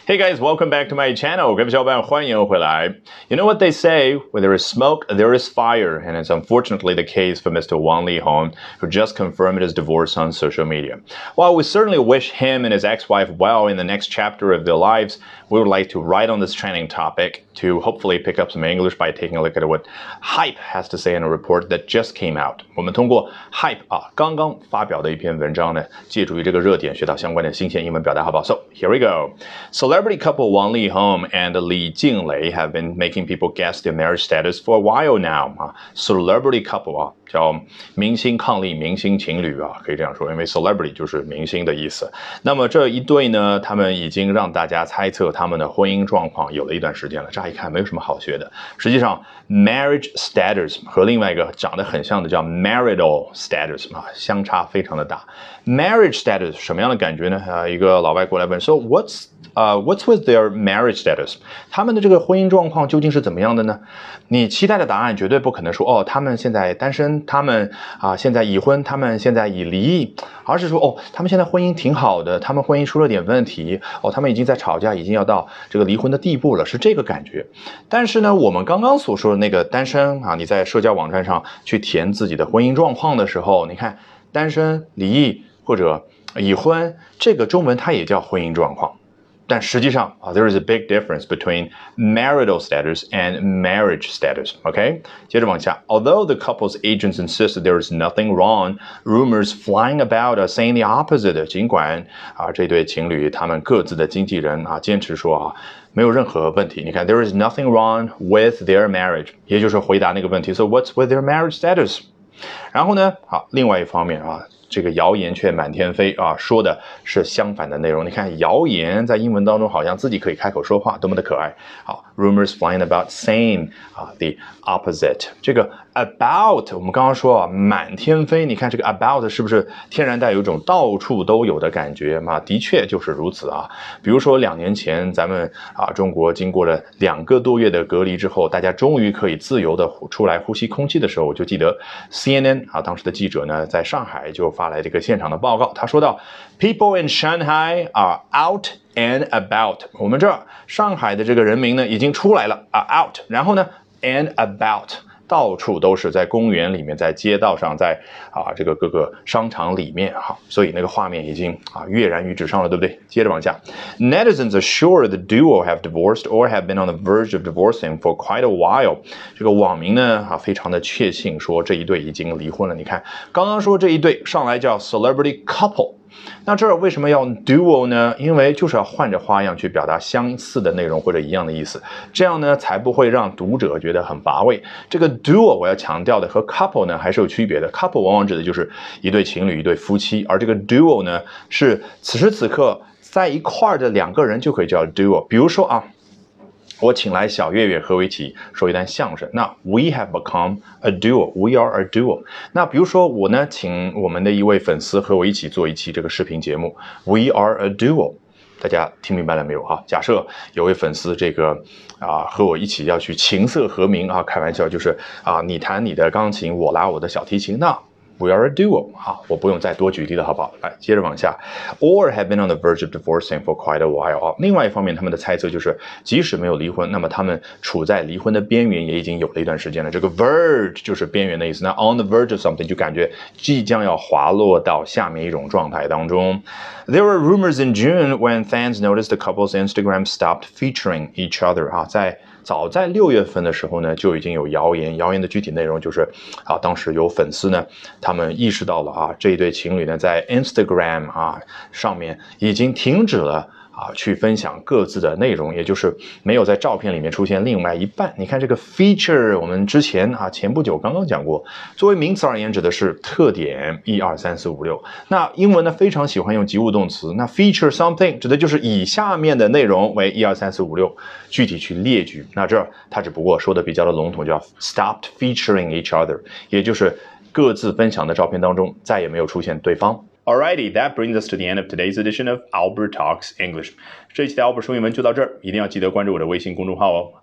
Hey guys, welcome back to my channel. 各位小伙伴，欢迎回来。You know what they say? Where there is smoke, there is fire, and it's unfortunately the case for Mr. Wang Lihong, who just confirmed his divorce on social media. While we certainly wish him and his ex-wife well in the next chapter of their lives, we would like to write on this trending topic to hopefully pick up some English by taking a look at what Hype has to say in a report that just came out. 我们通过 Hype 刚刚发表的一篇文章呢，借助于这个热点学到相关的新鲜英文表达，好不好？ So here we go. Celebrity couple Wang Lihong and Li Jinglei have been making people guess their marriage status for a while now. Celebrity couple 叫明星伉俪、明星情侣可以这样说，因为 celebrity 就是明星的意思。那么这一对呢，他们已经让大家猜测他们的婚姻状况有了一段时间了。乍一看没有什么好学的，实际上 marriage status 和另外一个长得很像的叫 marital status 相差非常的大。marriage status 什么样的感觉呢？一个老外过来问 ，So what's with their marriage status？ 他们的这个婚姻状况究竟是怎么样的呢？你期待的答案绝对不可能说他们现在单身，他们现在已婚，他们现在已离异，而是说他们现在婚姻挺好的，他们婚姻出了点问题，他们已经在吵架，已经要到这个离婚的地步了，是这个感觉。但是呢，我们刚刚所说的那个单身你在社交网站上去填自己的婚姻状况的时候，你看单身、离异或者已婚，这个中文它也叫婚姻状况。但实际上there is a big difference between marital status and marriage status. Okay? 接着往下 Although the couple's agents insist there is nothing wrong, rumors flying about are saying the opposite. 尽管这对情侣他们各自的经纪人坚持说没有任何问题。你看 there is nothing wrong with their marriage. 也就是回答那个问题 So what's with their marriage status? 然后呢另外一方面这个谣言却满天飞说的是相反的内容。你看谣言在英文当中好像自己可以开口说话，多么的可爱。好 rumors flying about saying the opposite. 这个 about 我们刚刚说满天飞，你看这个 about 是不是天然带有一种到处都有的感觉嘛？的确就是如此比如说2年前咱们中国经过了2个多月的隔离之后，大家终于可以自由的出来呼吸空气的时候，我就记得 CNN 当时的记者呢在上海就发来这个现场的报告，他说到 People in Shanghai are out and about. 我们这儿上海的这个人民呢已经出来了out， 然后呢 and about， 到处都是，在公园里面，在街道上，在这个各个商场里面所以那个画面已经跃然于纸上了，对不对？接着往下 Netizens are sure the duo have divorced or have been on the verge of divorcing for quite a while. 这个网民呢非常的确信说这一对已经离婚了。你看刚刚说这一对上来叫 celebrity couple，那这儿为什么要 duo 呢？因为就是要换着花样去表达相似的内容或者一样的意思，这样呢才不会让读者觉得很乏味。这个 duo 我要强调的和 couple 呢还是有区别的。 couple 往往指的就是一对情侣、一对夫妻，而这个 duo 呢是此时此刻在一块儿的2个人就可以叫 duo。 比如说我请来小岳岳和我一起说一段相声，那 we have become a duo, we are a duo。 那比如说我呢请我们的一位粉丝和我一起做一期这个视频节目， we are a duo。 大家听明白了没有假设有位粉丝这个和我一起要去琴瑟和鸣开玩笑，就是你弹你的钢琴，我拉我的小提琴，那We are a duo 我不用再多举例了，好不好？来，接着往下 Or have been on the verge of divorcing for quite a while 另外一方面，他们的猜测就是即使没有离婚，那么他们处在离婚的边缘也已经有了一段时间了。这个 verge 就是边缘的意思，那 on the verge of something 就感觉即将要滑落到下面一种状态当中。 There were rumors in June when fans noticed the couple's Instagram stopped featuring each other 早在6月份的时候呢，就已经有谣言的具体内容就是当时有粉丝呢，他们意识到了这一对情侣呢在 Instagram 上面已经停止了去分享各自的内容，也就是没有在照片里面出现另外一半。你看这个 feature 我们之前前不久刚刚讲过，作为名词而言指的是特点1、2、3、4、5、6。那英文呢非常喜欢用及物动词，那 feature something 指的就是以下面的内容为1、2、3、4、5、6具体去列举。那这它只不过说的比较的笼统，叫 stopped featuring each other， 也就是各自分享的照片当中再也没有出现对方。Alrighty, that brings us to the end of today's edition of Albert Talks English. 这一期的 Albert 说英文就到这儿，一定要记得关注我的微信公众号哦。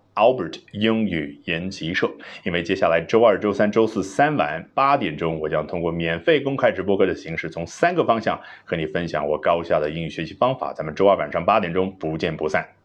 Albert 英语研习社，因为接下来周二、周三、周四3晚8点钟，我将通过免费公开直播课的形式，从3个方向和你分享我高效的英语学习方法。咱们周二晚上8点钟不见不散。